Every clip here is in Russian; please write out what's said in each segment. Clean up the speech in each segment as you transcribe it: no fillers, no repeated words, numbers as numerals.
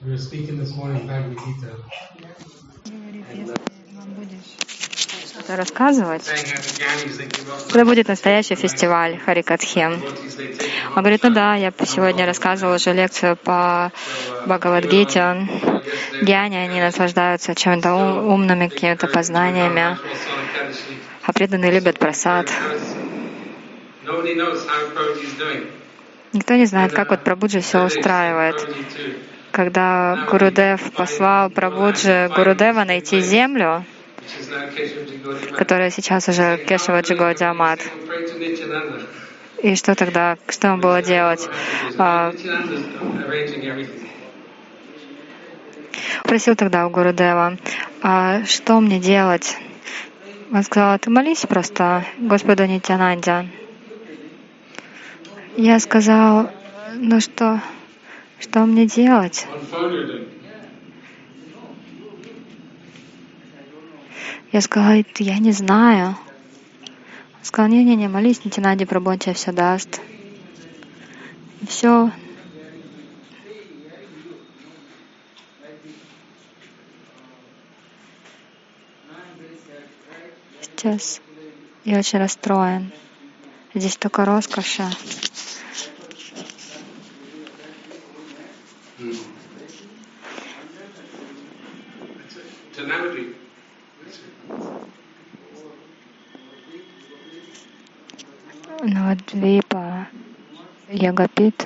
We were speaking this morning Bhagavad Gita. Говорит, если вам будешь что-то рассказывать, это будет настоящий фестиваль Харикатхи. Он говорит, ну да, я сегодня рассказывал уже лекцию по Бхагавад-гите. Гьяни, они наслаждаются чем-то умными какими-то познаниями, а преданные любят прасад. Никто не знает, как вот Прабхуджи все устраивает. Когда Гурудев послал Прабхуджи Гурудева найти землю, которая сейчас уже Кешаваджи Гаудиамат. И что тогда? Что ему было делать? Просил тогда у Гурудева, что мне делать? Он сказал, ты молись просто Господу Нитьянанде. Я сказал, ну что мне делать? Я сказала, я не знаю. Он сказал, не, молись Нитьянанде Прабху, он тебе все даст. И все. Сейчас я очень расстроен. Здесь только роскоши. Навадвипа, Ягапит,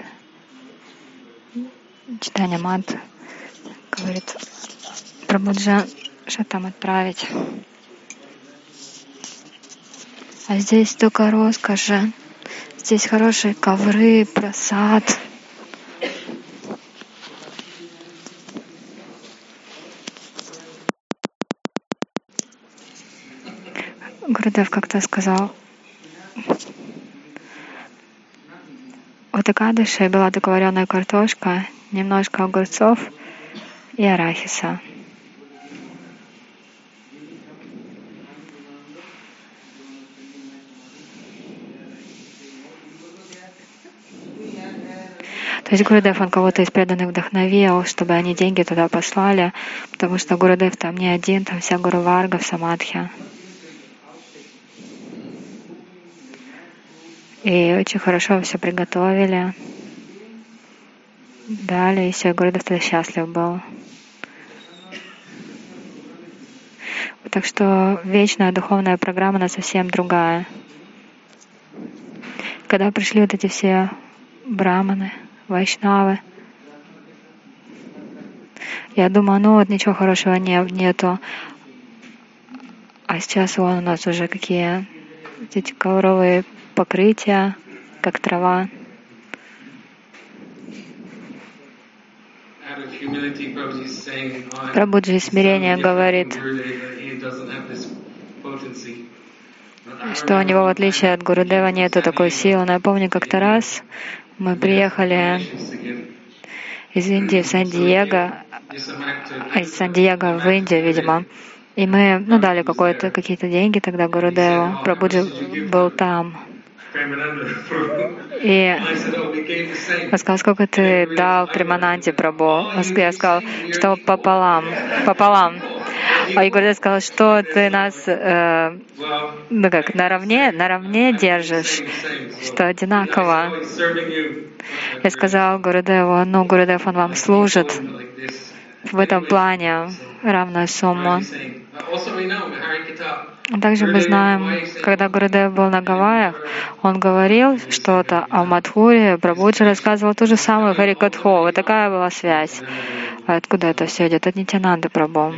Читания Мат говорит, Прабхуджа, что там отправить? А здесь только роскоши. Здесь хорошие ковры, прасад. Гурудев как-то сказал, у Экадыши была только вареная картошка, немножко огурцов и арахиса. То есть Гурудев, он кого-то из преданных вдохновил, чтобы они деньги туда послали, потому что Гурудев там не один, там вся Гуру Варга в Самадхи. И очень хорошо все приготовили. Дали, и все, Гурудев тогда счастлив был. Так что вечная духовная программа, она совсем другая. Когда пришли вот эти все браманы, вайшнавы, я думаю, ну вот ничего хорошего нету. А сейчас вон у нас уже какие эти ковровые покрытия, как трава. Прабхуджи смирение говорит, что у него, в отличие от Гурудева, нету такой силы. Но я помню, как-то раз мы приехали из Индии в Сан-Диего, из Сан-Диего в Индию, видимо, и мы дали какие-то деньги тогда Гурудеву. Прабхуджи был там. И он сказал, сколько ты дал Премананде Прабху? Я сказал, что пополам. А Гурудев сказал, что ты нас наравне держишь, что одинаково. Я сказал Гурудеву, Гурудев, он вам служит в этом плане равную сумму. Также мы знаем, когда Гурудев был на Гавайях, он говорил что-то, а в Мадхуре Прабхуджи рассказывал ту же самую Харикатху. Вот такая была связь. А откуда это все идет? От Нитьянанды Прабху.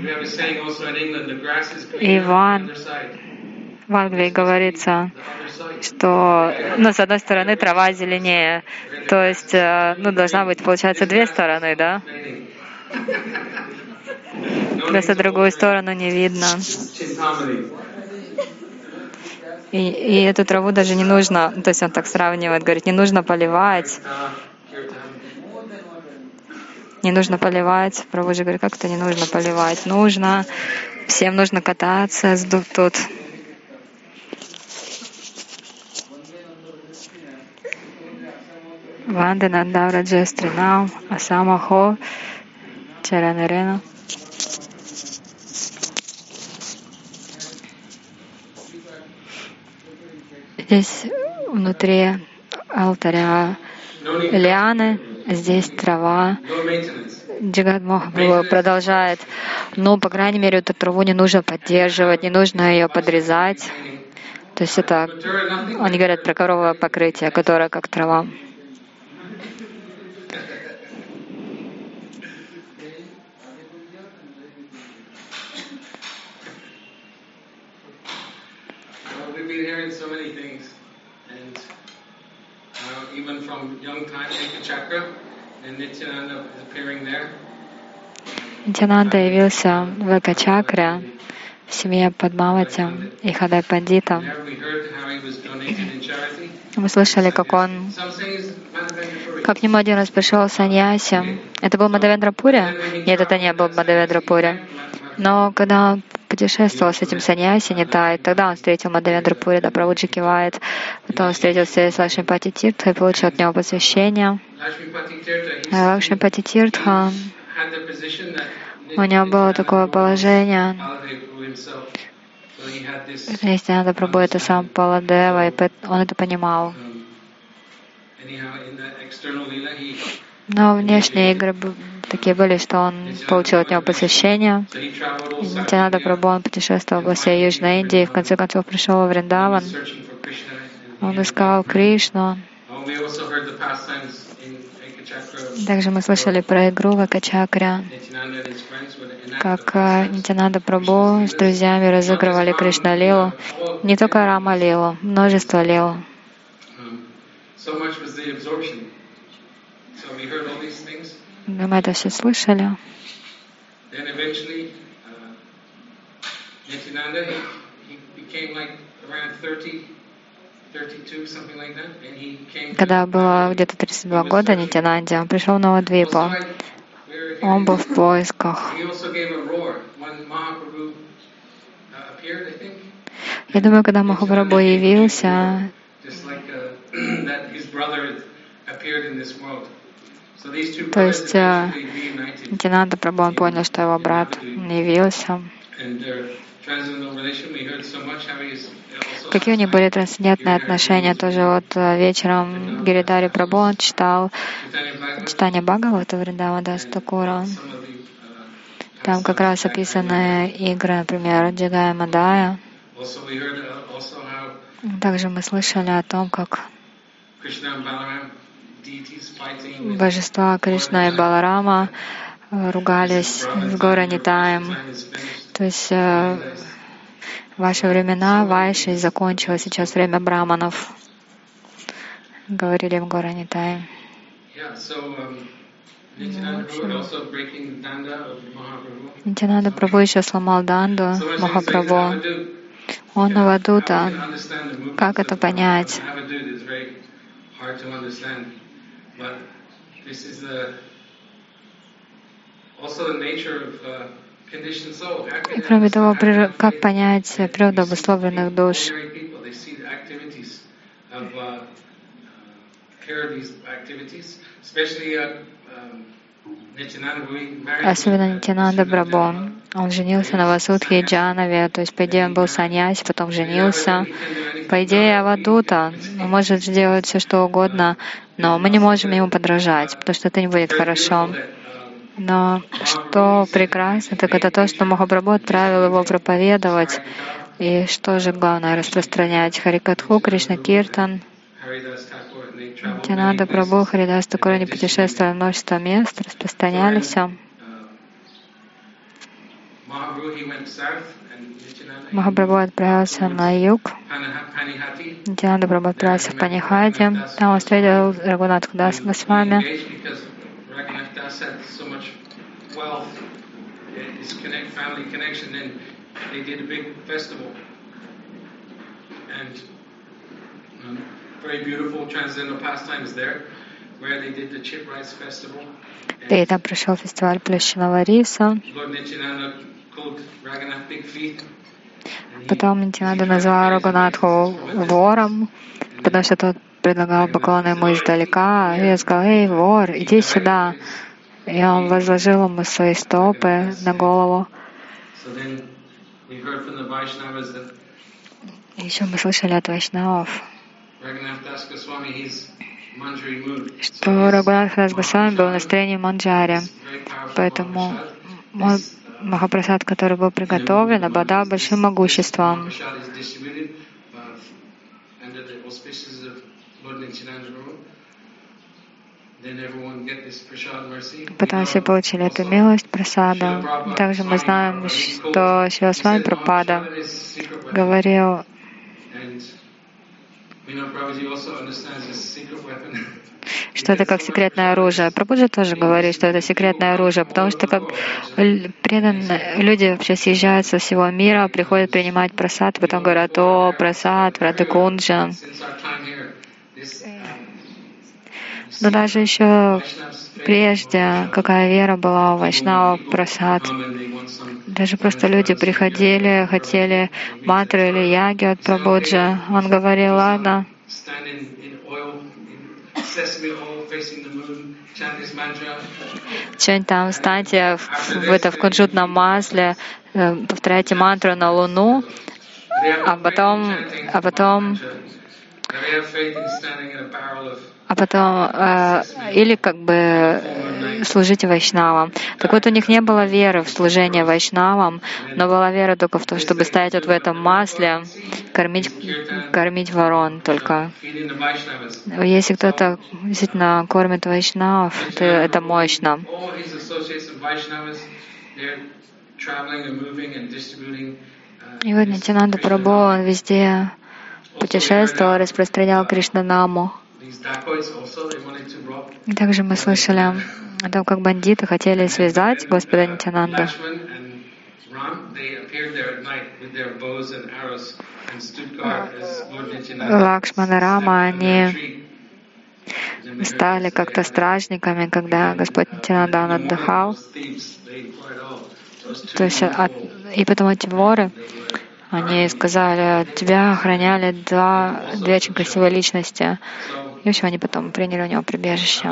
И в Ангелии говорится, что с одной стороны трава зеленее, то есть должна быть, получается, две стороны, да? Просто другую сторону не видно. И эту траву даже не нужно, то есть он так сравнивает, говорит, не нужно поливать. Не нужно поливать. Прабхуджи говорит, как это не нужно поливать? Нужно. Всем нужно кататься тут. Вандена Давраджестринам Асамахо вечер, Ирина. Здесь внутри алтаря лианы, здесь трава. Джигат Махапрабху продолжает, по крайней мере, эту траву не нужно поддерживать, не нужно ее подрезать. То есть это, они говорят про коровое покрытие, которое как трава. Нитянанда явился в Экачакре в семье Падмавати и Хадай Пандита. Мы слышали, как к нему один раз пришел саньяси. Это был Мадавендрапури? Нет, это не был Мадавендрапури. Но когда он путешествовал с этим саньяси Нитай, тогда он встретил Мадавендрапури, да, Прабхуджи кивает. Потом он встретился с Лакшмипати Тиртхой и получил от него посвящение. Лакшмипати Тиртха, у него было такое положение, если надо Прабху, это сам Паладева, и он это понимал. Но внешние игры такие были, что он получил от него посвящение. Нитянанда Прабху, он путешествовал по всей Южной Индии, и в конце концов пришел во Вриндаван. Он искал Кришну. Также мы слышали про игру в Экачакре, как Нитянанда Прабху с друзьями разыгрывали Кришна-лилу. Не только Рама-лилу, множество лил. Мы это все слышали. Когда было где-то 32 года Нитянанде, он пришел в Навадвипу. Он был в поисках. Я думаю, когда Махапрабху явился, то есть Нитянанда Прабху, он понял, что его брат явился. Какие у них были трансцендентные отношения. Тоже вот вечером Гиридари Прабху он читал читание Бхагавата Вриндавана Такура. Там как раз описаны игры, например, Джигая Мадая. Также мы слышали о том, как божества Кришна и Баларама ругались с Гауранитаем. То есть ваши времена Вайши закончилось, сейчас время браманов, говорили в Гауранитае. Нитянанда Прабху еще сломал данду Махапрабху. Он Авадута. Как это понять? И кроме того, как понять природу обусловленных душ? Особенно Нитянанда Прабху. Он женился на Васудхе и Джанаве, то есть, по идее, он был саньяси, потом женился. По идее, Авадута может сделать все, что угодно, но мы не можем ему подражать, потому что это не будет хорошо. Но что прекрасно, так это то, что Махапрабху отправил его проповедовать. И что же главное, распространять Харикатху, Кришна Киртан. Нитянанда Прабху, Харидас Такур, они путешествовали в множество мест, распространялись. Махапрабху отправился на юг. Нитянанда Прабху отправился в Панихати. Там он встретил Рагунатху Даса Госвами. И там прошел фестиваль плющенного риса. Потом Нитянанда назвал Рагунатху вором, потому что тот предлагал поклоны ему издалека. И я сказал: «Эй, вор, иди сюда». и он возложил ему свои стопы на голову. Еще мы слышали от вайшнавов, что Рагунатх Дас Госвами был в настроении манджари, поэтому Махапрасад, который был приготовлен, обладал большим могуществом. Потом все получили эту милость прасада. Также мы знаем, что Шрила Свами Прабхупада говорил, что это как секретное оружие. Прабхупада тоже говорит, что это секретное оружие, потому что как преданные люди вообще съезжают со всего мира, приходят принимать прасад, потом говорят: «О, прасад, Радхакунджа». Но даже еще прежде, какая вера была у вайшнавов, прасад. Даже просто люди приходили, хотели мантры или яги от Прабхуджи. Он говорил: «Ладно, что-нибудь там, встаньте в кунжутном масле, повторяйте мантру на Луну, а потом или как бы служите вайшнавам». Так вот, у них не было веры в служение вайшнавам, но была вера только в то, чтобы стоять вот в этом масле, кормить ворон только. Если кто-то действительно кормит вайшнавов, то это мощно. И вот Нитьянанда Прабху, он везде путешествовал, распространял Кришнанаму. И также мы слышали о том, как бандиты хотели связать Господа Нитьянанду. Лакшман и Рама, они стали как-то стражниками, когда Господь Нитьянанда, он отдыхал. То есть, и потом эти воры, они сказали: «Тебя охраняли две очень красивые личности». И все, они потом приняли у него прибежище.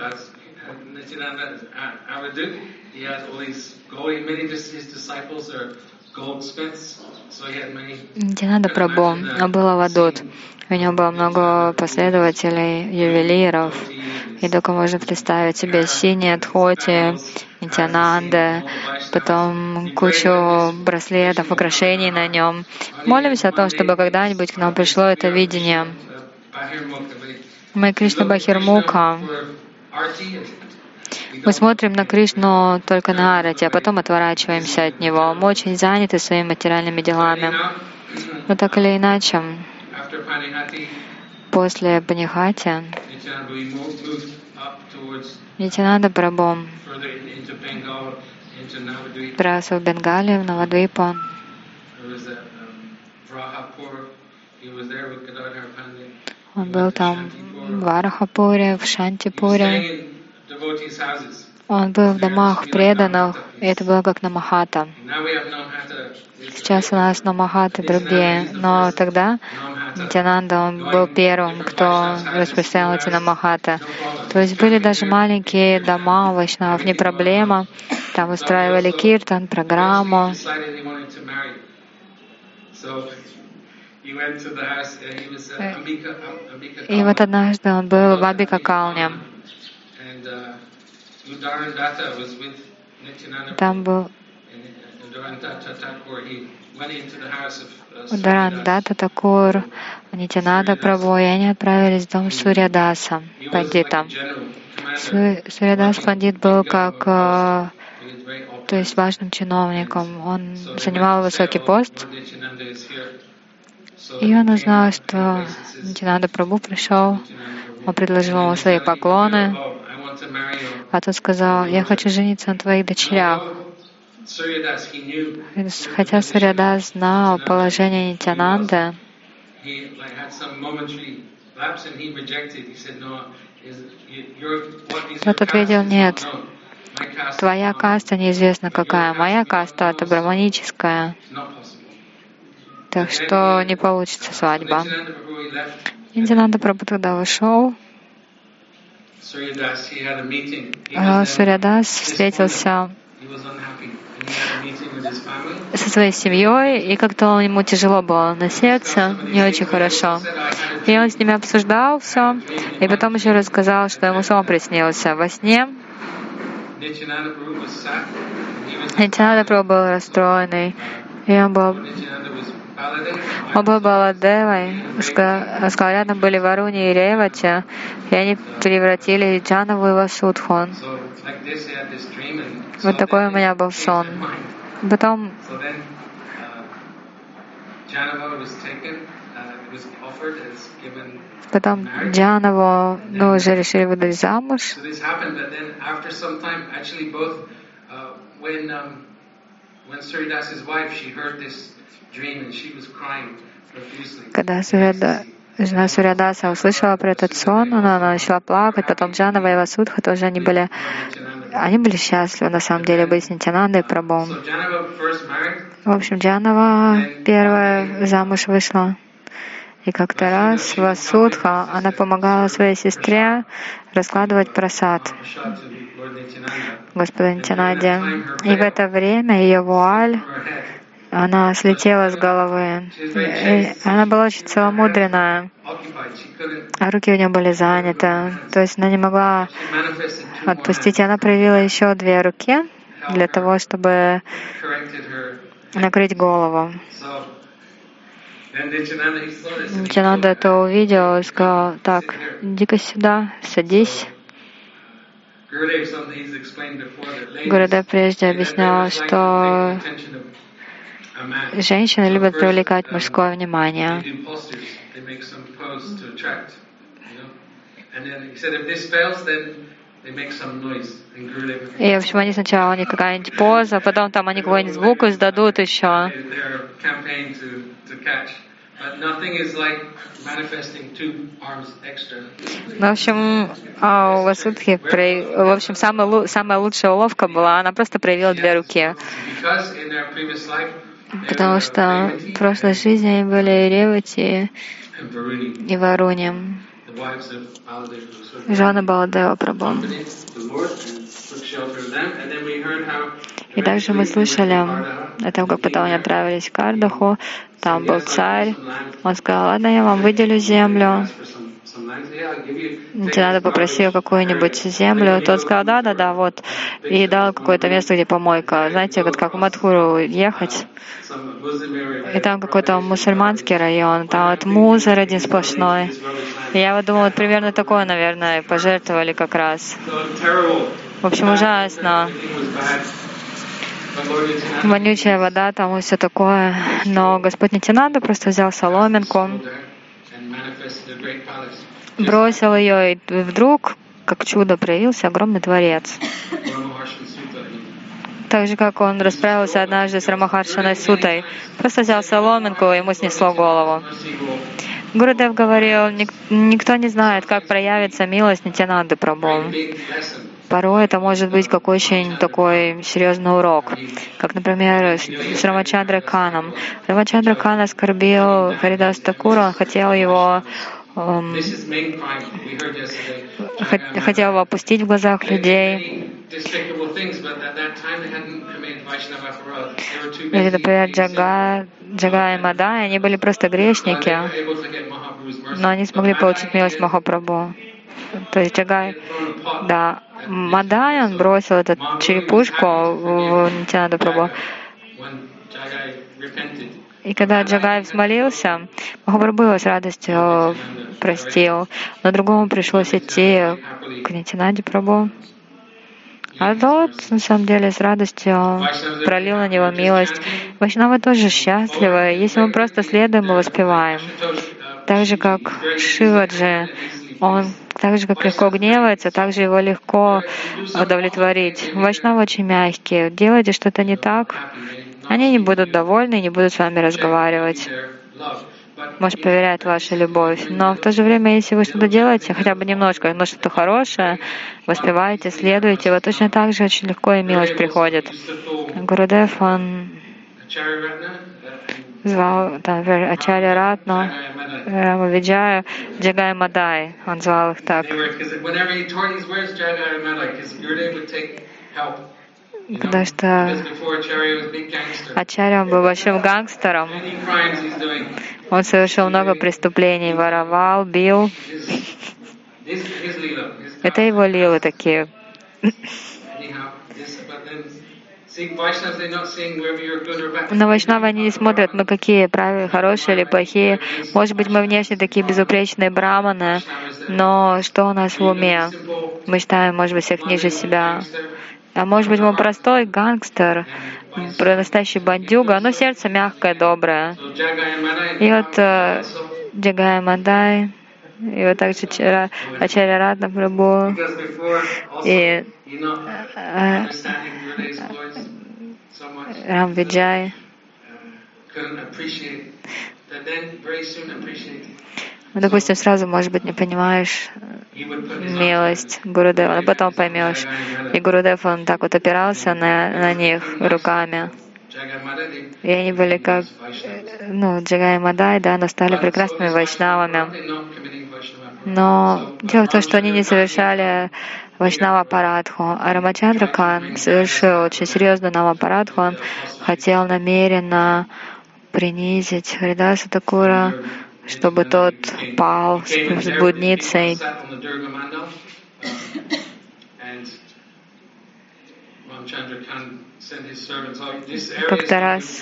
Нитьянанда Прабху был авадут. У него было много последователей, ювелиров. И только можно представить себе синие дхоти Нитьянанды, потом кучу браслетов, украшений на нем. Молимся о том, чтобы когда-нибудь к нам пришло это видение. Мы Кришна Бахирмуха. Мы смотрим на Кришну только на арати, а потом отворачиваемся от Него. Мы очень заняты своими материальными делами. Но так или иначе, после Панихати Нитьянанда Прабху отправился в Бенгалию, в Навадвипу. Он был там в Варахапуре, в Шантипуре. Он был в домах преданных, и это было как Намахата. Сейчас у нас Намахаты другие, но тогда Нитьянанда, он был первым, кто распространял эти Намахаты. То есть были даже маленькие дома у вайшнавов, не проблема. Там устраивали киртан, программу. И вот однажды он был в Амбика-калне. Там был Ударандата Такур, Нитьянанда Прабху, и они отправились в дом Сурьядаса, пандита. Сурьядас пандит был как, то есть важным чиновником. Он занимал высокий пост. И он узнал, что Нитьянанда Прабху пришел, он предложил ему свои поклоны, а тот сказал: «Я хочу жениться на твоих дочерях». Хотя Сурьядас знал положение Нитьянанды, тот ответил: «Нет, твоя каста неизвестно какая, моя каста — это браманическая, так что не получится свадьба». Нитьянанда Прабху тогда ушел, Сурьядас встретился со своей семьей, и как-то ему тяжело было на сердце, не очень хорошо. И он с ними обсуждал все, и потом еще рассказал, что ему сон приснился во сне. Нитянанда Прабху был расстроенный, и он был Баладевой, сказал, рядом были Варуни и Ревати, и они превратили Джанаву и Васудху. Вот такой у меня был сон. Потом Джанаву уже решили выдать замуж. Когда жена Сурьядаса услышала про этот сон, она начала плакать. Потом Джанава и Васудха тоже они были счастливы, на самом деле, быть с Нитянандой Прабху. В общем, Джанава первая замуж вышла. И как-то раз Васудха, она помогала своей сестре раскладывать прасад Господа Нитянанде. И в это время ее вуаль, она слетела с головы. И она была очень целомудренная, а руки у нее были заняты. То есть она не могла отпустить. И она проявила еще 2 руки для того, чтобы накрыть голову. Нитянанда это увидел и сказал: так, иди-ка сюда, садись. Гурудев прежде объяснял, что женщины любят привлекать мужское внимание. И, в общем, они сначала какая-нибудь поза, потом там они какой-нибудь звук издадут еще. В общем, у Васудхи, самая лучшая уловка была, она просто проявила 2 руки. Потому что в прошлой жизни они были и Ревати, и Варуни, жены Баладева Прабху. И также мы слышали о том, как потом они отправились в Кардаху, там был царь, он сказал: ладно, я вам выделю землю. Нитянанда попросил какую-нибудь землю, тот сказал: да, вот, и дал какое-то место, где помойка. Знаете, вот как в Мадхуру ехать, и там какой-то мусульманский район, там вот мусор один сплошной. И я вот думала, вот примерно такое, наверное, пожертвовали как раз. В общем, ужасно. Вонючая вода, там и все такое. Но Господь Нитянанда просто взял соломинку, бросил ее, и вдруг, как чудо, проявился огромный дворец. Так же, как он расправился однажды с Рамахаршаной Сутой. Просто взял соломинку, и ему снесло голову. Гурудев говорил, никто не знает, как проявится милость Нитянанды Прабху. Порой это может быть как очень такой серьезный урок. Как, например, с Рамачандрой Каном. Рамачандра Кан оскорбил Харидас Такура, он хотел его опустить в глазах людей. Или, например, Джага и Мадай, они были просто грешники, но они смогли получить милость Махапрабху. То есть Мадай, он бросил эту черепушку в Нитянанду Прабху. И когда Джагай взмолился, Махапрабху его с радостью простил, но другому пришлось идти к Нитянанде Прабху. А тот, на самом деле, с радостью пролил на него милость. Вайшнавы тоже счастливы, если мы просто следуем и воспеваем. Так же, как Шиваджи, он так же, как легко гневается, так же его легко удовлетворить. Вайшнавы очень мягкие. Делайте что-то не так, они не будут довольны, не будут с вами разговаривать. Может, проверяет вашу любовь. Но в то же время, если вы что-то делаете, хотя бы немножко, но что-то хорошее, воспеваете, следуете, вот точно так же очень легко и милость приходит. Гурудев, он звал, там, например, Ачарья Ратну, Рама Виджая, Джагай Мадай, он звал их так. Потому что Ачарья был большим гангстером. Он совершил много преступлений, воровал, бил. Это его лилы такие. Но вайшнавы, они не смотрят, мы какие, правильные, хорошие или плохие. Может быть, мы внешне такие безупречные браманы, но что у нас в уме? Мы считаем, может быть, всех ниже себя. А может быть, мы простой гангстер, настоящий бандюга, но сердце мягкое, доброе. И вот Джагай Мадай, и вот также Ачарья Ратна Прабху, и Рам Виджай. Ну, допустим, сразу, может быть, не понимаешь милость Гурудева, но потом поймешь. И Гурудев, он так вот опирался на них руками. И они были как, Джагай и Мадай, да, но стали прекрасными вайшнавами. Но дело в том, что они не совершали вайшнава парадху, а Рамачандра Кан совершил очень серьезную намапарадху. Он хотел намеренно принизить Харидаса Такура, чтобы тот пал с блудницей. Как-то раз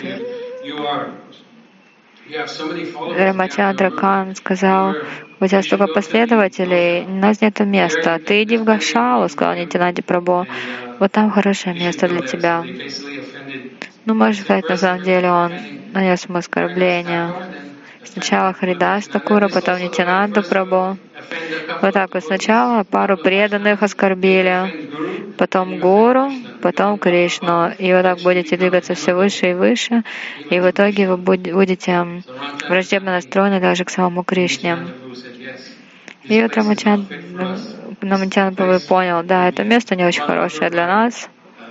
Рамачандра Кан сказал: у тебя столько последователей, у нас нет места. Ты иди в Гошалу, сказал Нитянанди Прабху. Вот там хорошее место для тебя. Ну, можно сказать, на самом деле он нанес ему оскорбление. Сначала Харидас Такура, потом Нитянанду Прабху. Вот так вот. Сначала пару преданных оскорбили, потом Гуру, потом Кришну. И вот так будете двигаться все выше и выше, и в итоге вы будете враждебно настроены даже к самому Кришне. И вот Рамачандра Прабху понял, да, это место не очень хорошее для нас.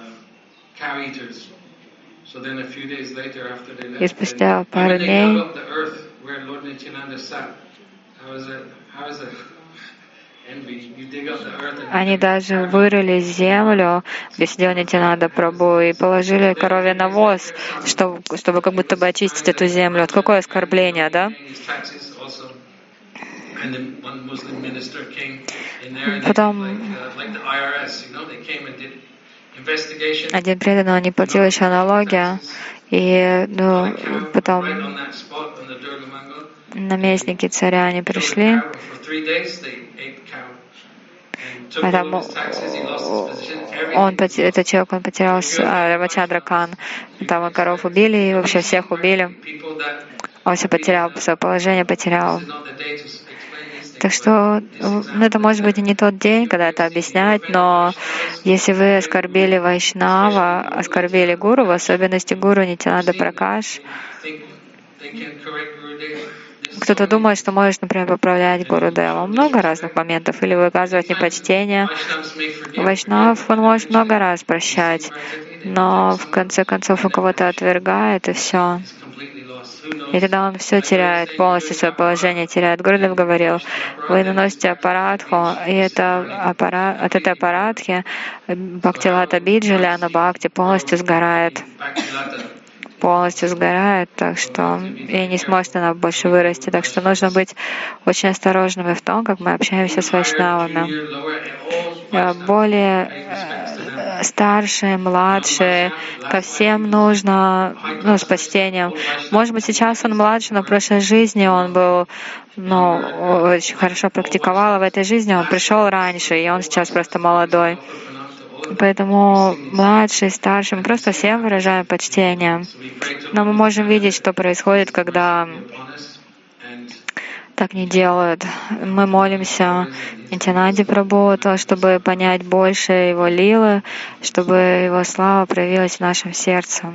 И спустя пару дней они даже вырыли землю, где сидел Нитянанда Прабху, и положили коровий навоз, чтобы как будто бы очистить эту землю. Вот какое оскорбление, да? Потом один преданный, он не платил еще налоги, и потом наместники царя, они пришли, а там этот человек, он потерял, Рамачандра Кан, там коров убили, и вообще всех убили. Он все потерял, свое положение потерял. Так что, это может быть и не тот день, когда это объяснять, но если вы оскорбили Вайшнава, оскорбили Гуру, в особенности Гуру Нитянанда Пракаш, кто-то думает, что можешь, например, поправлять Гурудева. Много разных моментов. Или выказывать непочтение. Вайшнав, он может много раз прощать, но в конце концов он кого-то отвергает, и все. И тогда он все теряет, полностью свое положение теряет. Гурудев говорил: вы наносите апарадху, и от этой апарадхи Бхактилата Биджаляна Бхакти полностью сгорает. Так что и не сможет она больше вырасти. Так что нужно быть очень осторожными в том, как мы общаемся с вайшнавами. Более старшие, младшие, ко всем нужно с почтением. Может быть, сейчас он младше, но в прошлой жизни он был, очень хорошо практиковал, а в этой жизни он пришел раньше, и он сейчас просто молодой. Поэтому младшие, старшие, мы просто всем выражаем почтение. Но мы можем видеть, что происходит, когда так не делают. Мы молимся Нитянанде Прабху, чтобы понять больше Его лилы, чтобы Его слава проявилась в нашем сердце.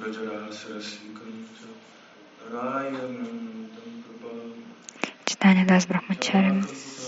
Читание Дас Брахмачари.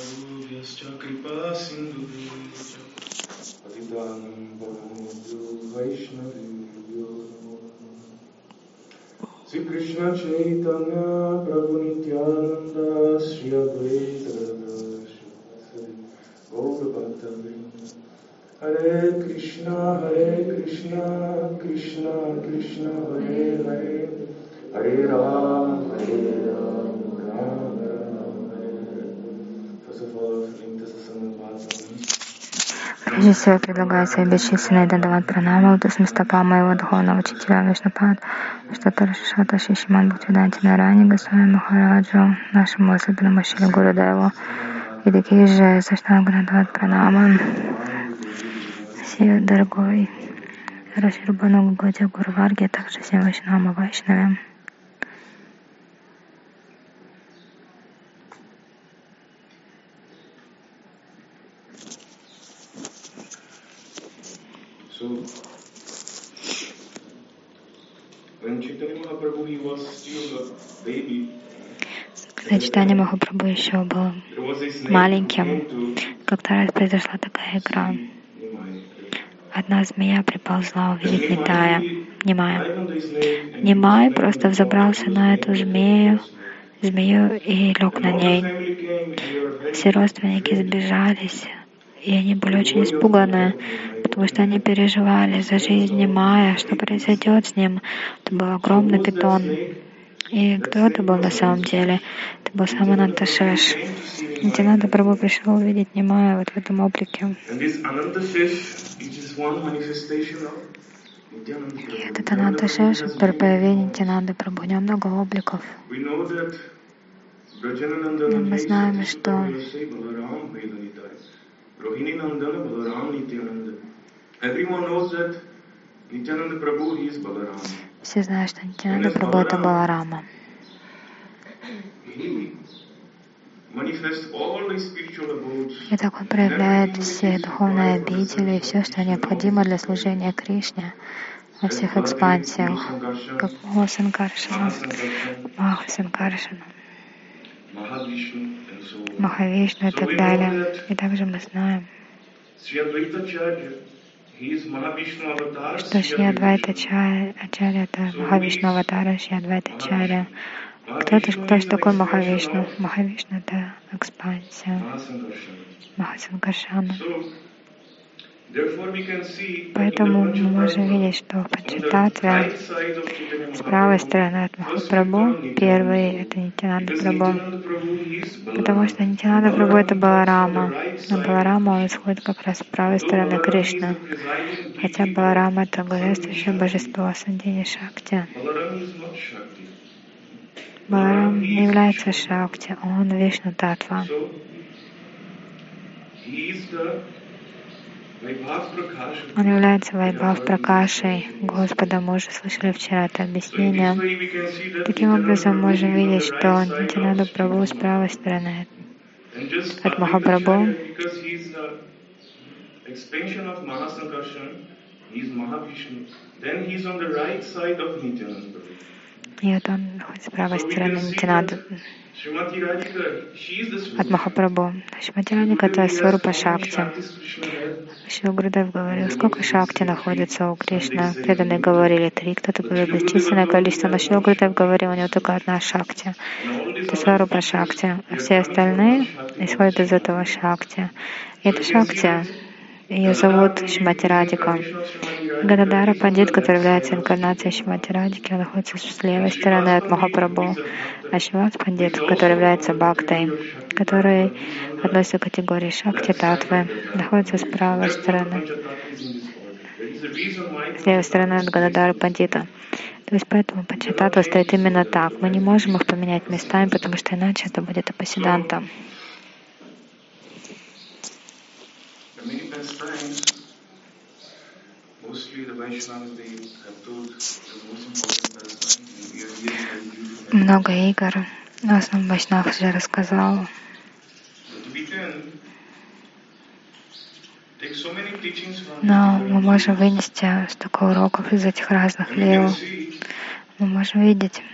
Shri Krishna Chaitanya Prabhu Nityananda Shri Advaita Gadadhara Shri Gaura Bhakta Vrinda Hare Krishna Krishna Krishna Hare Hare Hare Ram Ram Ram Hare Hare. First of all, linked to the Sangha Bhagavatam. Прежде всего, предлагаю свои бесчисленные дандават пранамы лотосным стопам моего духовного учителя Вишнупад, Штатара Шишата Шишиман Бхактивиданти Нарани Госвами Махараджу, нашему особенному Шри Гурудеву, и такие же Саштангу дандават пранамы всей дорогой Раширбану Гуде Гуру Варге, также всем Вайшнавам и Вайшнавям. Когда Чайтанья Махапрабху еще был маленьким, как-то раз произошла такая игра. Одна змея приползла увидеть Нимая. Нимай просто взобрался на эту змею и лег на ней. Все родственники сбежались, и они были очень испуганы, потому что они переживали за жизнь Нимая, что произойдет с ним. Это был огромный питон. И кто это был на самом деле? Это был сам Ананташеш. Нитянанда Прабху пришел увидеть Нимая вот в этом облике. И этот Ананташеш, который появился Нитянанды Прабху, у него много обликов. Мы знаем, что все знают, что Нитянанда Прабху — это Баларама. И так он проявляет все духовные обители и все, что необходимо для служения Кришне во всех экспансиях, как Махасанкаршана, Махавишну и так далее. И также мы знаем, что Шри Адвайта Ачарья — это Махавишну аватара Шри Адвайта Ачарья. Кто же такой Махавишну? Махавишну — это экспансия, Махасанкаршана. Поэтому мы можем видеть, что в Панчататве с правой стороны от Махапрабху первый — это Нитянанда Прабху, потому что Нитянанда Прабху — это Баларама, но Баларама он исходит как раз с правой стороны Кришны, хотя Баларама — это главенствующее божество Сандини Шакти. Баларам не является Шакти, он Вишну Татва. Он является Вайбхав Пракашей Господа. Мы уже слышали вчера это объяснение. Таким образом, мы можем видеть, что Нитянанда Прабху с правой стороны от Махапрабху. И вот он находится с правой стороны Нитянанды от Махапрабху. Шримати Радхика — это Сварупа Шакти. Шрила Гурудев говорил, сколько Шакти находится у Кришны. Преданные говорили 3, кто-то говорил бесчисленное количество, но Шрила Гурудев говорил, у него только одна Шакти. Это Сварупа Шакти. А все остальные исходят из этого Шакти. И эта Шакти, ее зовут Шримати Радхика. Гададара Пандит, который является инкарнацией Шримати Радхики, он находится с левой стороны от Махапрабху. А Шривас Пандит, который является Бхактой, который относится к категории Шакти Татвы, находится с правой стороны, с левой стороны от Гададара Пандита. То есть поэтому Панчататва стоит именно так. Мы не можем их поменять местами, потому что иначе это будет апасиданта. Много игр, в основном Вайшнав уже рассказал. Но мы можем вынести столько уроков из этих разных лил. мы можем видеть.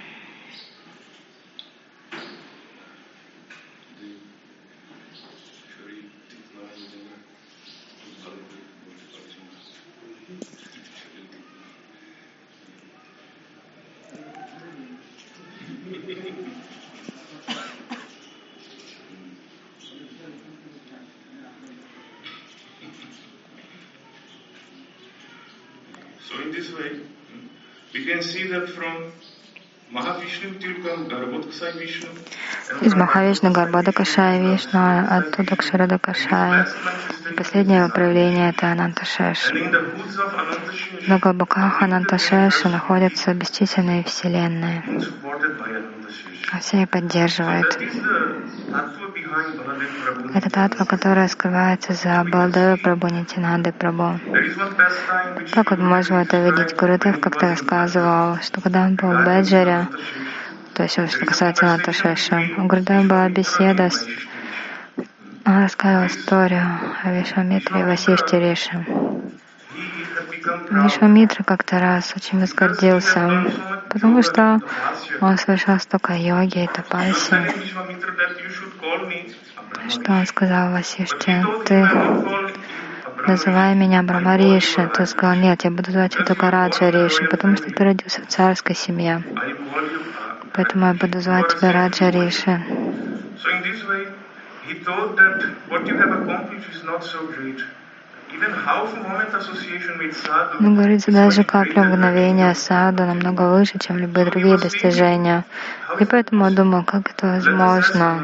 So in this way, we can see that from Mahavishnu Tilkam Garbhodakasai Vishnu. Из Махавишну Гарбhodakasai Вишну, оттуда к Шарадакашай. Последнее его проявление — это Ананташеша. На глубоках Ананташеша находятся бесчисленные вселенные, а все их поддерживает. Это татва, которая скрывается за Баладева Прабху, Нитьянандой Прабху. Как вот можем это видеть? Гурудев как-то рассказывал, что когда он был в Беджаре, то есть что касается Ананташеши, у Гурудева была беседа, он рассказывал историю о Вишвамитре и Васиште Риши. Вишвамитра как-то раз очень возгордился, потому что он совершал столько йоги и тапаси, что он сказал Васиште: ты называй меня Брахма-риши. Тот сказал: нет, я буду звать тебя только Раджа-риши, потому что ты родился в царской семье. Поэтому я буду звать тебя Раджа-риши. Но говорится, даже капля мгновения саду намного выше, чем любые другие достижения. И поэтому я думал, как это возможно.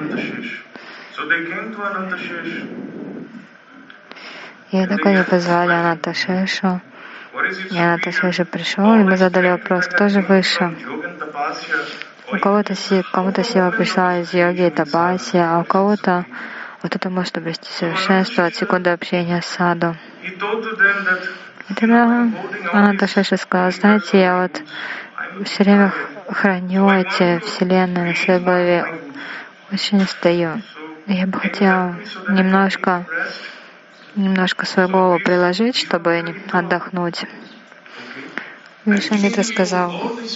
И так они позвали Ананташешу. И Ананташеша пришел, и мы задали вопрос, кто же выше. У кого-то сила пришла из йоги и тапаси, а у кого-то вот это может обрести совершенство от секунды общения с саду. И тогда Ананташеша сказал: знаете, я вот все время храню эти вселенные на своей голове, очень устаю. Я бы хотела немножко свою голову приложить, чтобы отдохнуть. Вишвамитра сказал: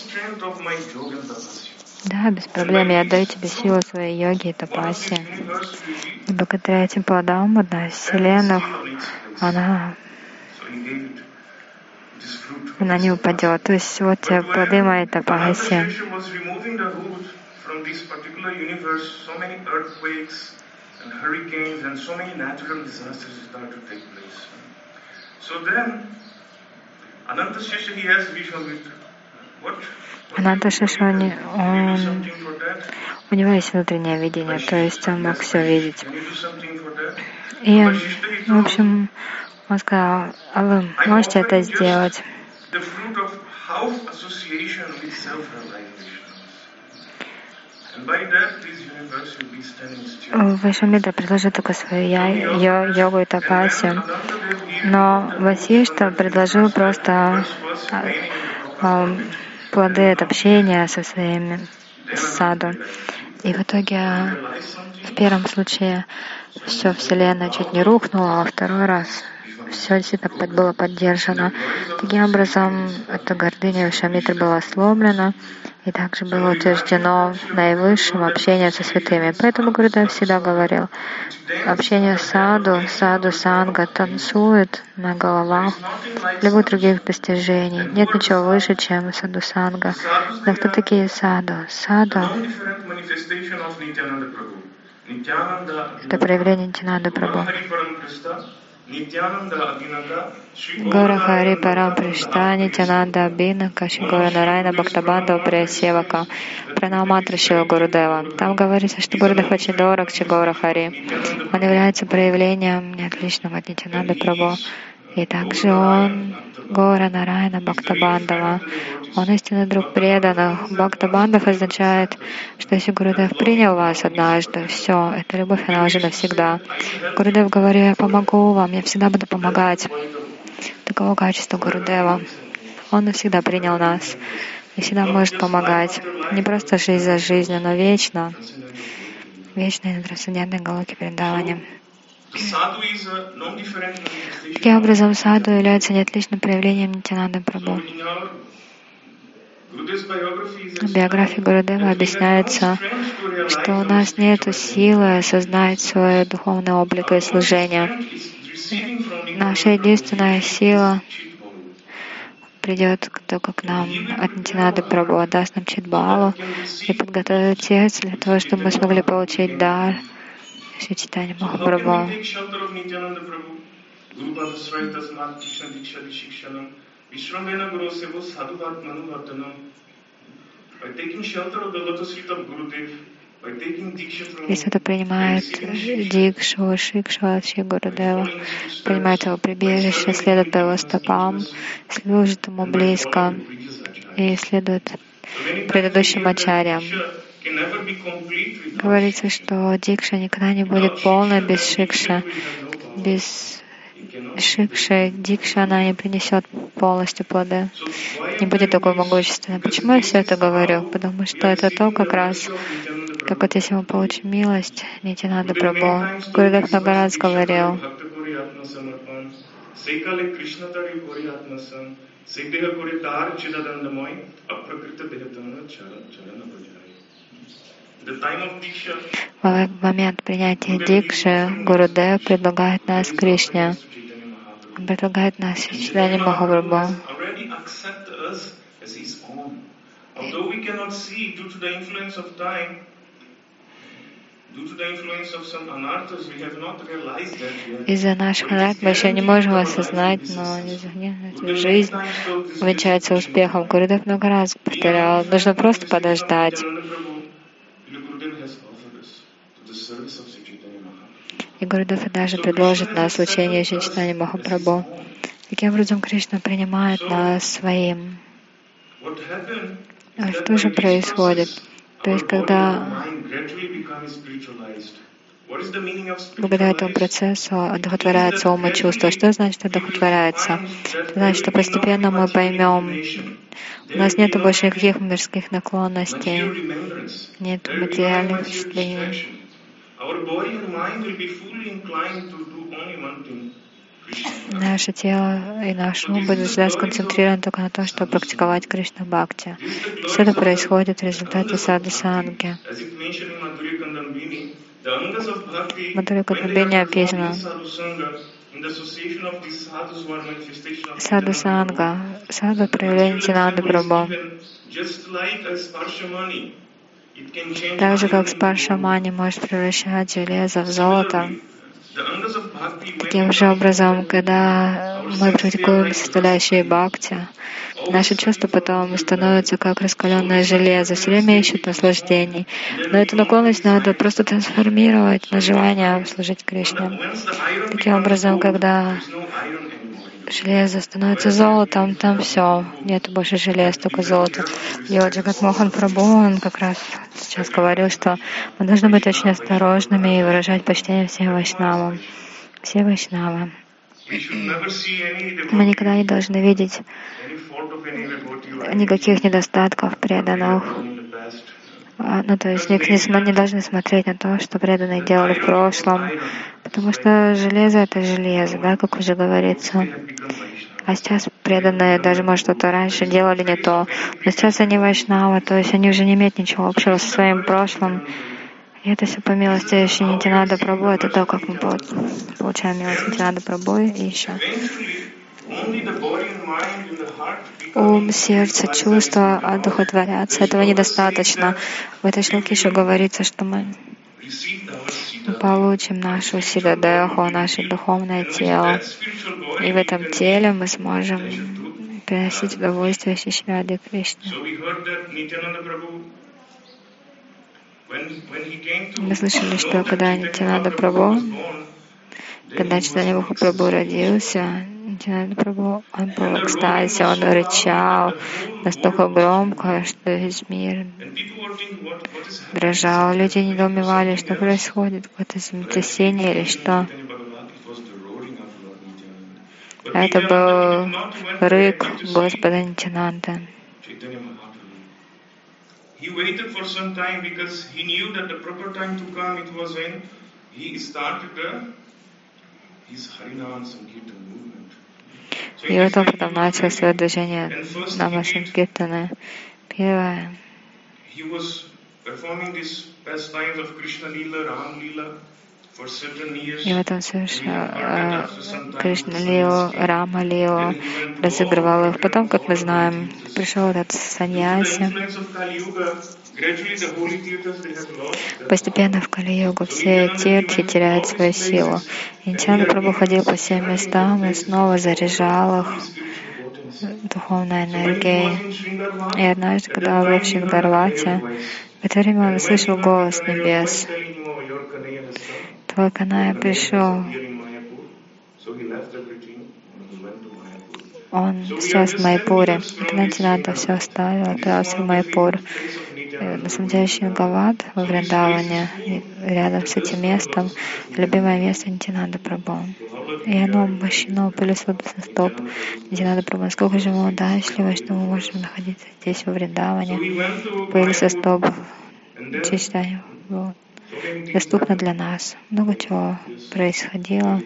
да, без проблем, я отдаю тебе силу своей йоги и тапаси. И благодаря этим плодам одна из вселенных, она не упадет. То есть вот те плоды моей тапаси. Ананташеша, у него есть внутреннее видение, то есть он мог все видеть. И, в общем, он сказал: а вы можете это сделать? Вишвамитра предложил только свою йогу и тапаси, но Васишта предложил просто плоды от общения со своими саду. И в итоге в первом случае все Вселенная чуть не рухнула, а во второй раз все действительно было поддержано. Таким образом, эта гордыня Вишвамитры была сломлена, и также было утверждено наивысшим общение со святыми. Поэтому Гурудев всегда говорил: общение с саду санга танцует на головах любых других достижений. Нет ничего выше, чем саду санга. Но кто такие саду? Саду — это проявление Нитьянанды Прабху. Гора Хари Парам Пришта Нитьянанда Абхинака Гора Нарайна Бхактабандава Приясевака Пранамантра Шила Гурудева. Там говорится, что Гурудев очень дорог Гора Хари. Он является проявлением неотличного от Нитьянанды Прабху. И также он Гора Нарайна Бхактабандава. Он истинный друг преданных. Бхактабандав означает, что если Гурудев принял вас однажды, все, эта любовь, она уже навсегда. Гурудев говорит: я помогу вам, я всегда буду помогать. Таково качество Гурудева. Он навсегда принял нас и всегда может помогать. Не просто жизнь за жизнью, но вечно. Вечной на трансцендентной Галоке Вриндаване. Таким образом, саду является неотличным проявлением Нитьянанды Прабху. В биографии Гурудева объясняется, что у нас нет силы осознать свой духовный облик и служение. Наша единственная сила придет только к нам от Нитянанды Прабху, даст нам Чидбалу и подготовит сердце для того, чтобы мы смогли получить дар Шри Чайтанья Махапрабху. Если кто-то принимает дикшу, шикшу от Шри Гурудева, принимает его прибежище, следует по его стопам, служит ему близко и следует предыдущим ачарьям. Говорится, что дикша никогда не будет полной без шикши. Без шикши дикша она не принесет полностью плоды, не будет такой могущественной. Почему я все это говорю? Потому что это то как раз, как вот если мы получим милость, Нитянанда Прабху. Гурудев много раз говорил, в момент принятия дикши Гурудев предлагает нас Кришне. Он предлагает нас Чайтанья Махапрабху. Из-за наших анарт мы еще не можем осознать, но жизнь увенчается успехом. Гурудев много раз повторял, нужно просто подождать. И Гурудев даже предложит нас учение Шри Чайтанья Махапрабху. Таким образом, Кришна принимает нас своим. А что же происходит? То есть, когда благодаря этому процессу одухотворяется ум и чувство. Что значит одухотворяется? Это значит, что постепенно мы поймем, у нас нет больше никаких мирских наклонностей, нет материальных впечатлений. Наше тело и наш ум будут всегда сконцентрированы только на том, чтобы практиковать Кришна Бхакти. Все это происходит в результате саду-санги. В Мадхурья Кадамбине описано саду-санга, саду проявление Нитянанды Прабху. Так же, как спаршамани может превращать железо в золото, таким же образом, когда мы практикуем составляющие бхакти, наши чувства потом становятся как раскаленное железо, все время ищут наслаждений. Но эту наклонность надо просто трансформировать на желание служить Кришне. Таким образом, когда железо становится золотом, там все, нет больше желез, только золото. И вот Джагат Мохан Прабху, он как раз сейчас говорил, что мы должны быть очень осторожными и выражать почтение всем вайшнавам. Все вайшнавы. Мы никогда не должны видеть никаких недостатков преданных. То есть не должны смотреть на то, что преданные делали в прошлом, потому что железо — это железо, да, как уже говорится. А сейчас преданные даже, может, что-то раньше делали не то, но сейчас они вайшнавы, то есть они уже не имеют ничего общего со своим прошлым. И это все по милости Шри Нитянанда Прабху, это то, как мы получаем милость Нитянанда Прабху и еще. Ум, сердце, чувства одухотворятся. Этого недостаточно. В этой шлоке еще говорится, что мы получим нашу сидадеху, наше духовное тело. И в этом теле мы сможем приносить удовольствие Шри Раде Кришне. Мы слышали, что когда Нитянанда Прабху, когда Чайтанья Махапрабху родился, Нитянанда Прабху, он был в экстазе, он рычал настолько громко, что весь мир дрожал. Люди недоумевали, что происходит, какое-то землетрясение или что. Это был рык Господа Нитянанды. He waited for some time because he knew that the proper time to come it was when he started his Harinam Sankirtan movement. И вот он потом начал свое движение Нама Санкиртана. счастливое. И вот он совершал Кришна-лилу, Рама-лилу, разыгрывал их. Потом, как мы знаем, пришел этот саньяси. Постепенно в Кали-югу все тиртхи теряют свою силу. И Нитьянанда Прабху ходил по всем местам и снова заряжал их духовной энергией. И однажды, когда он был в Шингарвате, в это время он услышал голос небес. Твой Каная пришел. Он сейчас в Майпуре. Тогда Нитьянанда все оставил, отправился в Майпур. На самом деле Шингават во Вриндаване, рядом с этим местом, любимое место Нитьянанда Прабху. И оно обмощено пылесосом стоп Нитьянанда Прабху. Насколько же мы удачливы, что мы можем находиться здесь во Вриндаване. Пылесостоп читанию доступно для нас. Много чего происходило.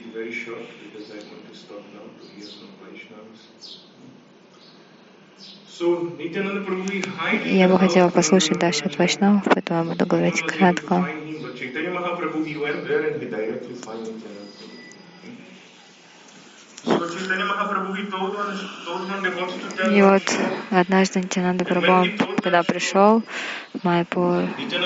Я бы хотела послушать дальше от Вайшнавов, поэтому я буду говорить кратко. И вот однажды Нитьянанда Прабху, когда пришел в Майпур,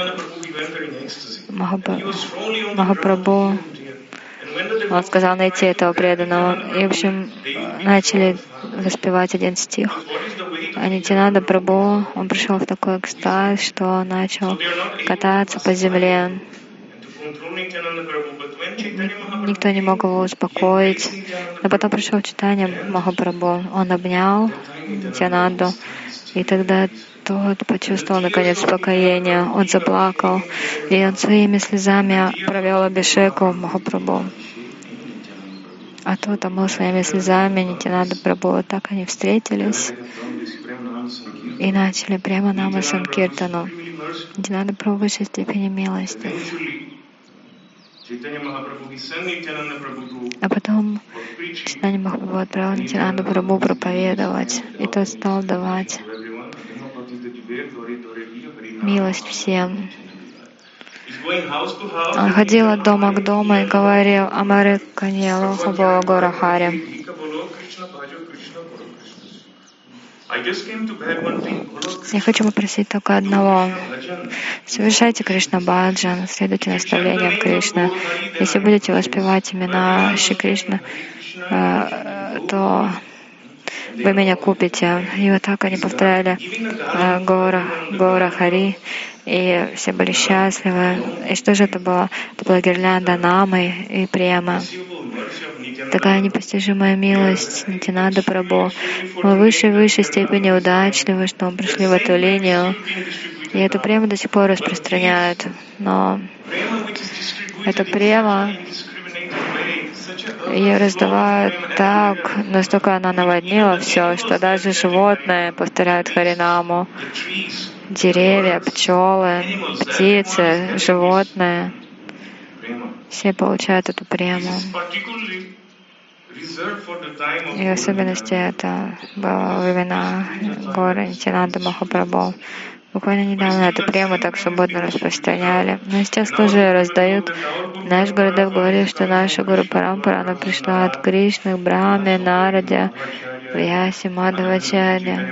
Махапрабху, он сказал найти этого преданного. И, в общем, начали воспевать один стих. А Нитьянанда Прабху, он пришел в такой экстаз, что начал кататься по земле. Никто не мог его успокоить. Но потом пришел Чайтанья Махапрабху. Он обнял Нитьянанду, и тогда тот почувствовал наконец успокоение. Он заплакал, и он своими слезами провел абхишеку Махапрабху. А тот омыл своими слезами Нитьянанда Прабху. Так они встретились и начали прямо нама санкиртану. Нитьянанда Прабху в высшей степени милости. А потом Чайтанья Махапрабху отправил Нитьянанду Прабху проповедовать, и тот стал давать милость всем. Он ходил от дома к дому и говорил «Амаре Каньелу Хабо Гора Хари». Я хочу попросить только одного. Совершайте Кришна Баджан, следуйте наставлениям Кришны. Если будете воспевать имена Шри Кришны, то вы меня купите. И вот так они повторяли Гора Хари, и все были счастливы. И что же это было? Это была гирлянда Намы и Према. Такая непостижимая милость Нитьянанда Прабху. Мы в высшей степени удачливы, что мы пришли в эту линию. И эту прему до сих пор распространяют. Но эта према, ее раздавают так, настолько она наводнила все, что даже животные повторяют Харинаму. Деревья, пчелы, птицы, животные. Все получают эту прему. И в особенности это было во времена горы Нитьянанда Махапрабху. Буквально недавно эту прему так свободно распространяли. Но сейчас тоже раздают. Наш Гурудев говорил, что наша Гуру Парампара, она пришла от Кришны, Брахме, Нараде, Вьяси, Мадхавачарья.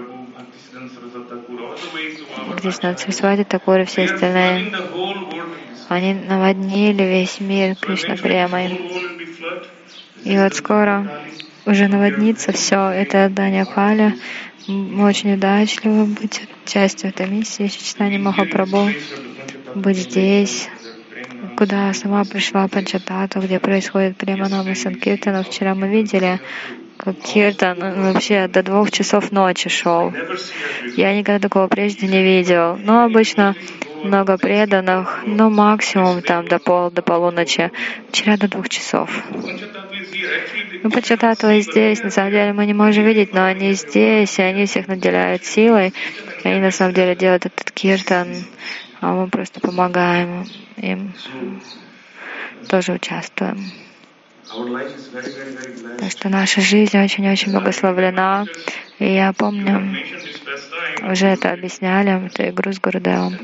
Кришна, Сарасвати, Такур и все остальные. Они наводнили весь мир Кришна премой. И вот скоро уже наводнится все. Это отдание Кали. Мы очень удачливы быть частью этой миссии Чайтаньи Махапрабху, быть здесь, куда сама пришла Панчататва, где происходит према нама санкиртана. Вчера мы видели, как киртан вообще до 2 часов ночи шел. Я никогда такого прежде не видел. Но обычно много преданных, но максимум там до полуночи. Вчера до 2 часов. Ну, Панчататва здесь, на самом деле мы не можем видеть, но они здесь, и они всех наделяют силой. И они на самом деле делают этот киртан, а мы просто помогаем им, тоже участвуем. Так что наша жизнь очень-очень благословлена. И я помню, уже это объясняли, эту игру с Гурудевом.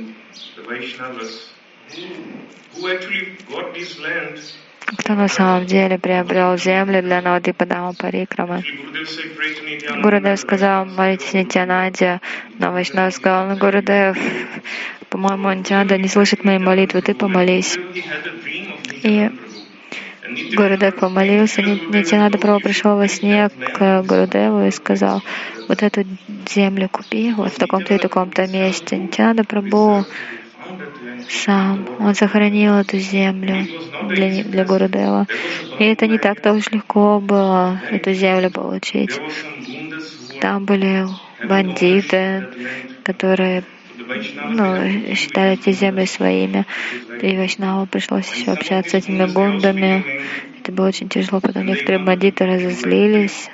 Кто на самом деле приобрел землю для Навадвипадама Парикрамы? Гурудев сказал, молитесь Нитьянанде, но Вайшнав сказал, Гурудев, по-моему, Нитьянанда не слышит мои молитвы, ты помолись. И Гурудев помолился, Нитьянанда Прабху пришел во сне к Гурудеву и сказал, вот эту землю купи, вот в таком-то и таком-то месте. Нитьянанда Прабху сам, он сохранил эту землю для Гурудева. И это не так-то уж легко было эту землю получить. Там были бандиты, которые считали эти земли своими. И Вайшнаву пришлось еще общаться с этими гундами. Это было очень тяжело. Потом некоторые бандиты разозлились.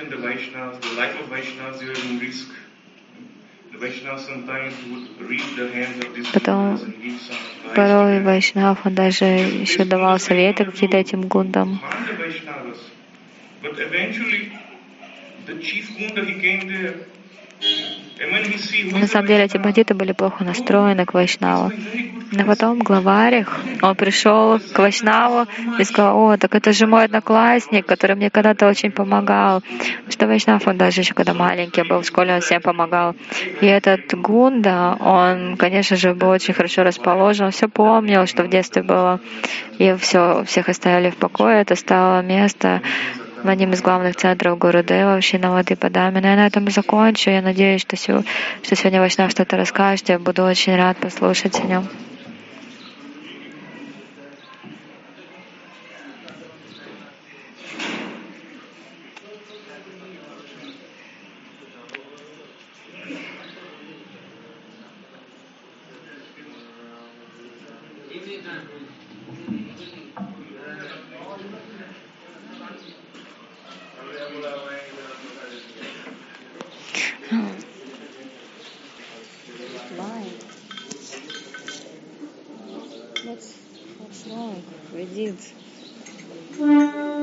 Потом порой Вайшнав, он даже еще давал советы какие-то этим гундам. На самом деле эти бандиты были плохо настроены к Вайшнаву. Но потом главарь их, он пришел к Вайшнаву и сказал, о, так это же мой одноклассник, который мне когда-то очень помогал. Потому что Вайшнав, он даже еще когда маленький был в школе, он всем помогал. И этот Гунда, он, конечно же, был очень хорошо расположен, он все помнил, что в детстве было. И всех оставили в покое, это стало место в одним из главных центров Гурудева, в Навадвипадаме. Но я на этом закончу. Я надеюсь, что сегодня Вайшнав что-то расскажет. Я буду очень рад послушать о нем. What's wrong? We did.